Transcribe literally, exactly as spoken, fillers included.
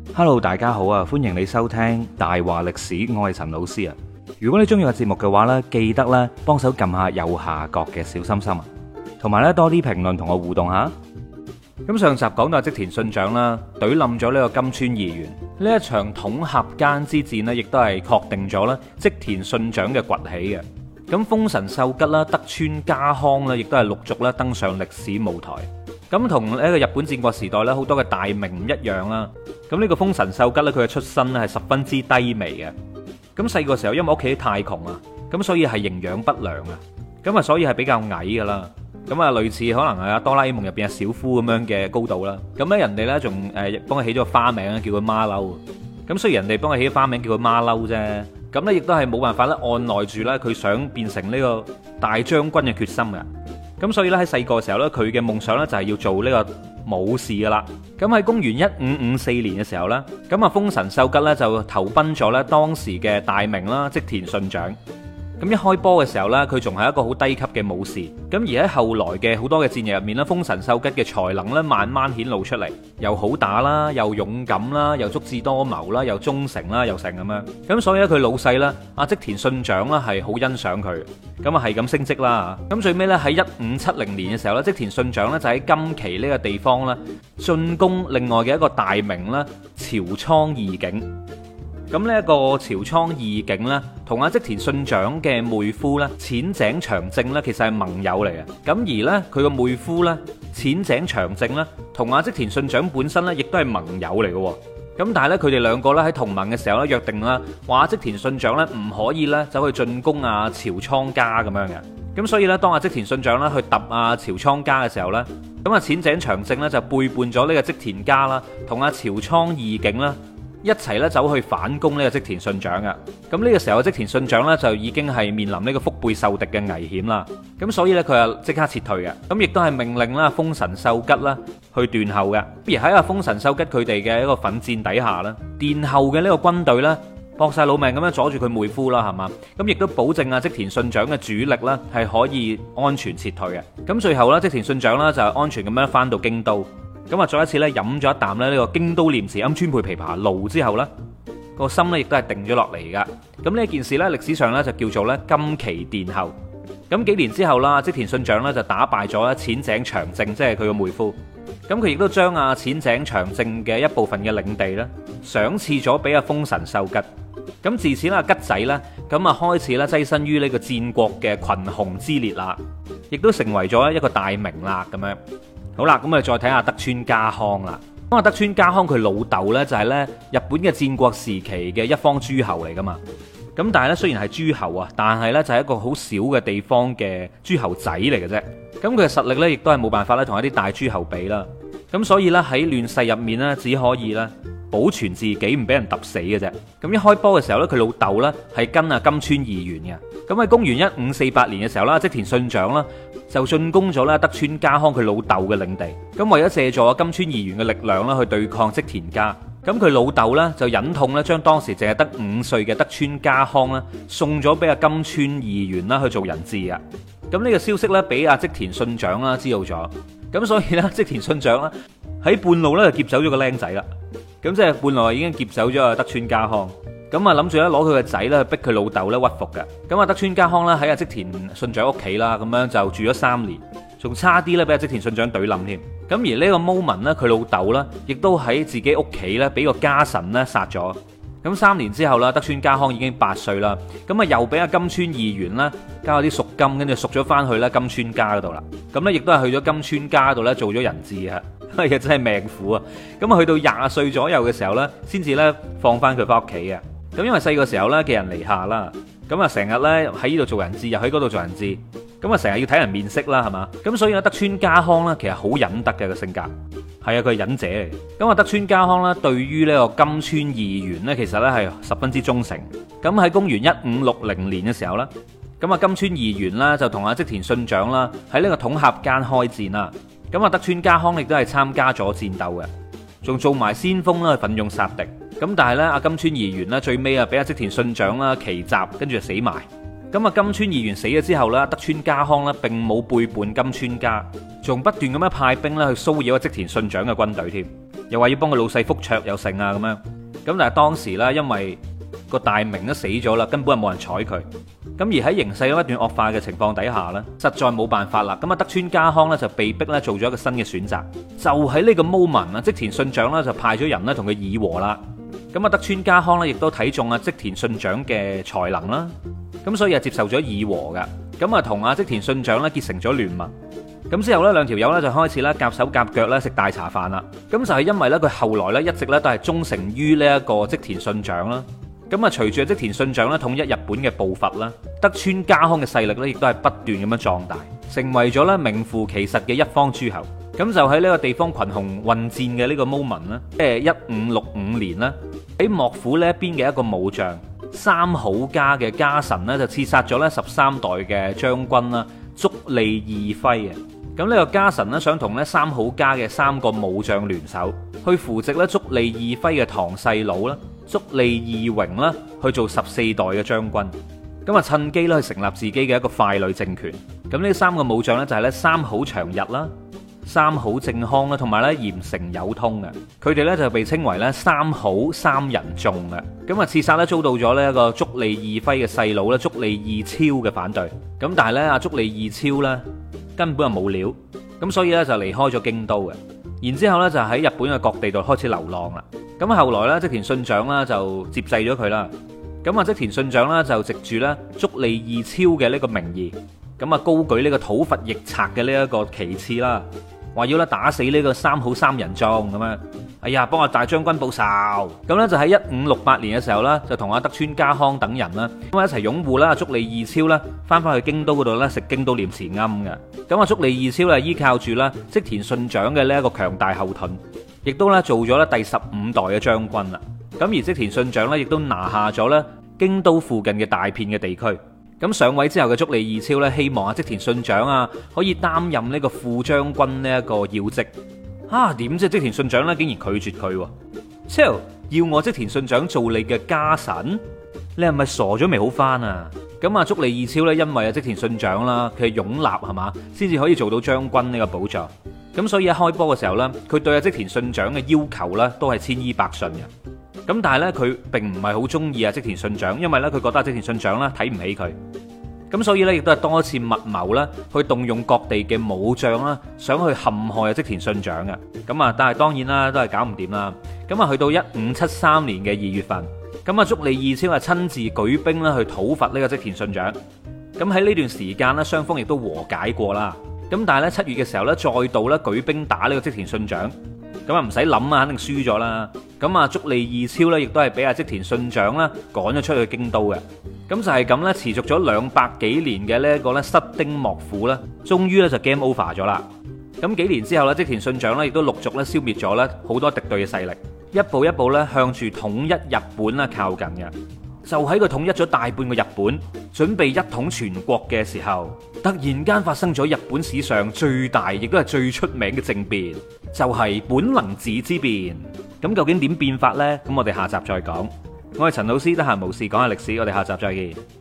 Hello，大家好啊！歡迎你收聽大話歷史，我係陳老師啊。如果你中意個節目嘅話呢，記得咧幫手撳下右下角嘅小心心啊，同埋咧多啲評論同我互動下。咁上集講到織田信長啦，懟冧咗呢個金川義元，呢一場統合間之戰呢，亦都係確定咗咧織田信長嘅崛起嘅。咁豐臣秀吉啦、德川家康啦，亦都係陸續咧登上歷史舞台。咁同呢個日本戰國時代咧好多嘅大名唔一樣啦。咁呢個豐臣秀吉咧，佢嘅出身咧係十分之低微嘅。咁細個時候因為屋企太窮啊，咁所以係營養不良啊，咁啊所以係比較矮噶啦。咁啊類似可能係阿哆啦 A 夢入邊阿小夫咁樣嘅高度啦。咁咧人哋咧仲誒幫佢起咗個花名咧，叫佢馬騮。咁雖然人哋幫佢起咗花名叫佢馬騮啫，咁咧亦都係冇辦法咧按捺住咧佢想變成呢個大將軍嘅決心嘅。咁所以咧喺細個嘅時候咧，佢嘅夢想咧就係要做呢個武士噶啦。咁喺公元一五五四年嘅時候咧，咁啊豐臣秀吉咧就投奔咗咧當時嘅大名啦織田信長。咁一開波嘅時候咧，佢仲係一個好低級嘅武士。咁而喺後來嘅好多嘅戰役入面咧，豐臣秀吉嘅才能咧慢慢顯露出嚟，又好打啦，又勇敢啦，又足智多謀啦，又忠誠啦，又成咁樣。咁所以咧佢老細咧阿織田信長咧係好欣賞佢，咁啊係咁升職啦。咁最尾咧喺一五七零年嘅時候咧，織田信長咧就喺金崎呢個地方咧進攻另外嘅一個大名啦朝倉義景。咁呢一個朝倉義景呢，同阿織田信長嘅妹夫呢，淺井長政呢，其實係盟友嚟嘅。咁而呢，佢個妹夫呢，淺井長政呢，同阿織田信長本身呢，亦都係盟友嚟嘅。咁但係呢，佢哋兩個呢，喺同盟嘅時候呢，約定啦，話織田信長呢，唔可以呢，走去進攻阿朝倉家咁樣嘅。咁所以呢，當阿織田信長呢，去揼阿朝倉家嘅時候呢，咁阿淺井長政呢，就背叛咗呢個織田家啦，同阿朝倉義景啦，一齊咧走去反攻呢個織田信長嘅。咁呢個時候織田信長呢，就已經係面臨呢個腹背受敵嘅危險啦。咁所以呢，佢就即刻撤退嘅。咁亦都係命令啦豐臣秀吉啦去斷後嘅。而喺阿豐臣秀吉佢哋嘅一個奮戰底下呢，殿後嘅呢個軍隊呢，搏晒老命咁樣阻住佢妹夫啦，係嘛？咁亦都保證啊織田信長嘅主力呢，係可以安全撤退嘅。咁最後呢，織田信長呢，就安全咁樣翻到京都。咁啊，再一次咧飲咗一啖咧呢個京都念慈庵川貝枇杷露之後呢，個心咧亦都係定咗落嚟噶。咁呢件事呢，歷史上呢就叫做咧金崎殿後。咁幾年之後啦，織田信長呢就打敗咗咧淺井長政，即係佢個妹夫。咁佢亦都將阿淺井長政嘅一部分嘅領地呢，賞賜咗俾阿豐臣秀吉。咁自此啦，吉仔呢，咁啊開始咧躋身於呢個戰國嘅群雄之列啦，亦都成為咗一個大名啦咁樣。好啦，咁我哋再睇下德川家康啦。咁啊，德川家康佢老豆呢，就係呢日本嘅戰國時期嘅一方諸侯嚟噶嘛。咁但係呢，雖然係諸侯啊，但係呢就係一個好小嘅地方嘅諸侯仔嚟嘅啫。咁佢嘅實力呢，亦都係冇辦法咧同一啲大諸侯比啦。咁所以呢，喺亂世入面呢，只可以呢保存自己唔俾人揼死嘅啫。咁一開波嘅時候呢，佢老豆呢係跟阿金川義元嘅。咁喺公元一五四八年嘅時候啦，織田信長啦就進攻咗咧德川家康佢老豆嘅領地。咁為咗借助金川義元嘅力量啦去對抗織田家，咁佢老豆呢就忍痛咧將當時淨係得五歲嘅德川家康咧送咗俾阿金川義元啦去做人質啊。咁呢個消息咧俾阿織田信長啦知道咗，咁所以咧織田信長啦喺半路咧就劫走咗個僆仔啦。咁即係半路已經劫走咗阿德川家康。咁啊諗住咧攞佢個仔咧去逼佢老豆咧屈服嘅。咁啊德川家康咧喺阿織田信長屋企啦，咁樣就住咗三年，仲差啲咧俾阿織田信長懟冧添。咁而呢個 moment 咧，佢老豆咧亦都喺自己屋企咧俾個家臣咧殺咗。咁三年之後啦，德川家康已經八歲啦，咁啊又俾阿金川義元啦交咗啲贖金，跟住贖咗翻去咧金川家嗰度啦。咁咧亦都係去咗金川家度咧做咗人質啊！哎呀，真係命苦啊！咁啊去到廿歲左右嘅時候咧，先至咧放翻佢翻屋企嘅。咁因為細個時候咧寄人籬下啦，咁啊成日咧喺呢度做人質，又喺嗰度做人質，咁啊成日要睇人面色啦，係嘛？咁所以咧德川家康咧其實好忍得嘅個性格，係啊佢係忍者嚟。咁啊德川家康咧對於呢個金川義元咧其實咧係十分之忠誠。咁喺公元一五六零年嘅時候咧，咁啊金川義元啦就同阿織田信長啦喺呢個統合間開戰啦。咁啊德川家康亦都係參加咗戰鬥嘅，仲做埋先鋒啦，奮勇殺敵。咁但係咧，阿金川義元咧最尾啊，俾阿織田信長啦奇襲，跟住就死埋。咁啊，金川義元死咗之後咧，德川家康咧並冇背叛金川家，仲不斷咁樣派兵咧去騷擾阿織田信長嘅軍隊添。 又話要幫個老細覆卓又成啊咁樣。咁但係當時呢，因為個大明都死咗啦，根本係冇人睬佢。咁而喺形勢不斷惡化嘅情況底下呢，實在冇辦法啦。咁啊，德川家康呢，就被逼咧做咗一個新嘅選擇。就喺呢個 moment 啊，織田信長呢，就派咗人咧同佢議和啦。咁啊，德川家康呢，亦都睇中啊織田信長嘅才能啦。咁所以啊，接受咗議和噶。咁啊，同啊織田信長咧結成咗聯盟。咁之後呢，兩條友咧就開始咧夾手夾腳咧食大茶飯啦。咁就係因為咧佢後來咧一直咧都係忠誠於呢一個織田信長啦。咁啊，隨住織田信長咧統一日本嘅步伐啦，德川家康嘅勢力咧亦都係不斷咁樣壯大，成為咗咧名副其實嘅一方諸侯。咁就喺呢個地方群雄混戰嘅呢個 moment 啦，即係一五六五年啦，喺幕府呢一邊嘅一個武將三好家嘅家臣呢，就刺殺咗咧十三代嘅將軍啦，足利義輝嘅。咁呢個家臣呢，想同咧三好家嘅三個武將聯手，去扶植咧足利義輝嘅堂細佬啦，足利義榮啦，去做十四代嘅將軍。咁啊，趁機咧去成立自己嘅一個傀儡政權。咁呢三個武將呢，就係咧三好長日啦、三好正康啦，同埋咧鹽城有通嘅。佢哋咧就被稱為咧三好三人眾嘅。咁啊，刺殺咧遭到咗呢一個足利義輝嘅細佬咧足利義超嘅反對。咁但係咧阿足利義超咧根本就冇料，咁所以咧就離開咗京都嘅。然之後咧就喺日本嘅各地度開始流浪啦。咁後來咧織田信長啦就接濟咗佢啦。咁啊織田信長啦就藉住咧足利義超嘅呢個名義，咁啊高舉呢個討伐逆賊嘅呢一個旗幟啦，話要咧打死呢個三好三人眾咁樣。哎呀，幫阿大將軍報仇。咁咧就喺一五六八年嘅時候啦，就同阿德川家康等人啦，咁啊一齊擁護啦足利義超啦，翻翻去京都嗰度咧食京都念慈庵嘅。咁啊足利義超咧依靠住啦織田信長嘅呢一個強大後盾，亦都咧做咗咧第十五代嘅將軍啦。咁而織田信長咧亦都拿下咗咧京都附近嘅大片嘅地區。咁上位之後嘅足利義超咧，希望啊織田信長啊可以擔任呢個副將軍呢一個要職。啊，點知織田信長咧竟然拒絕佢？超要我織田信長做你嘅家臣？你係咪傻咗未好翻啊？咁啊，足利義超咧，因為啊織田信長啦，佢係擁立係嘛，先至可以做到將軍呢個寶座。咁所以一開波嘅時候咧，佢對啊織田信長嘅要求咧都係千依百順嘅。咁但係咧，佢並唔係好中意啊織田信長，因為咧佢覺得啊織田信長咧睇唔起佢。咁所以咧，亦都係多次密謀啦，去動用各地嘅武將啦，想去陷害啊織田信長嘅。咁啊，但係當然啦，都係搞唔掂啦。咁啊，去到一五七三年嘅二月份，咁啊，足利義超啊親自舉兵啦去討伐呢個織田信長。咁喺呢段時間呢，雙方亦都和解過啦。咁但係咧，七月嘅時候咧，再度咧舉兵打呢個織田信長。咁啊，唔使諗啊，肯定輸咗啦。咁啊，足利義超咧，亦都係俾阿織田信長啦趕咗出去京都嘅。咁就係咁咧，持續咗兩百幾年嘅呢一個咧室町幕府咧，終於咧就 game over 咗啦。咁幾年之後咧，織田信長咧亦都陸續咧消滅咗咧好多敵對嘅勢力，一步一步咧向住統一日本啦靠近嘅。就喺佢統一咗大半個日本，準備一統全國嘅時候，突然間發生咗日本史上最大亦都係最出名嘅政變，就係本能寺之變。咁究竟點變法呢？咁我哋下集再講。我係陳老師，得閒無事講下歷史，我哋下集再見。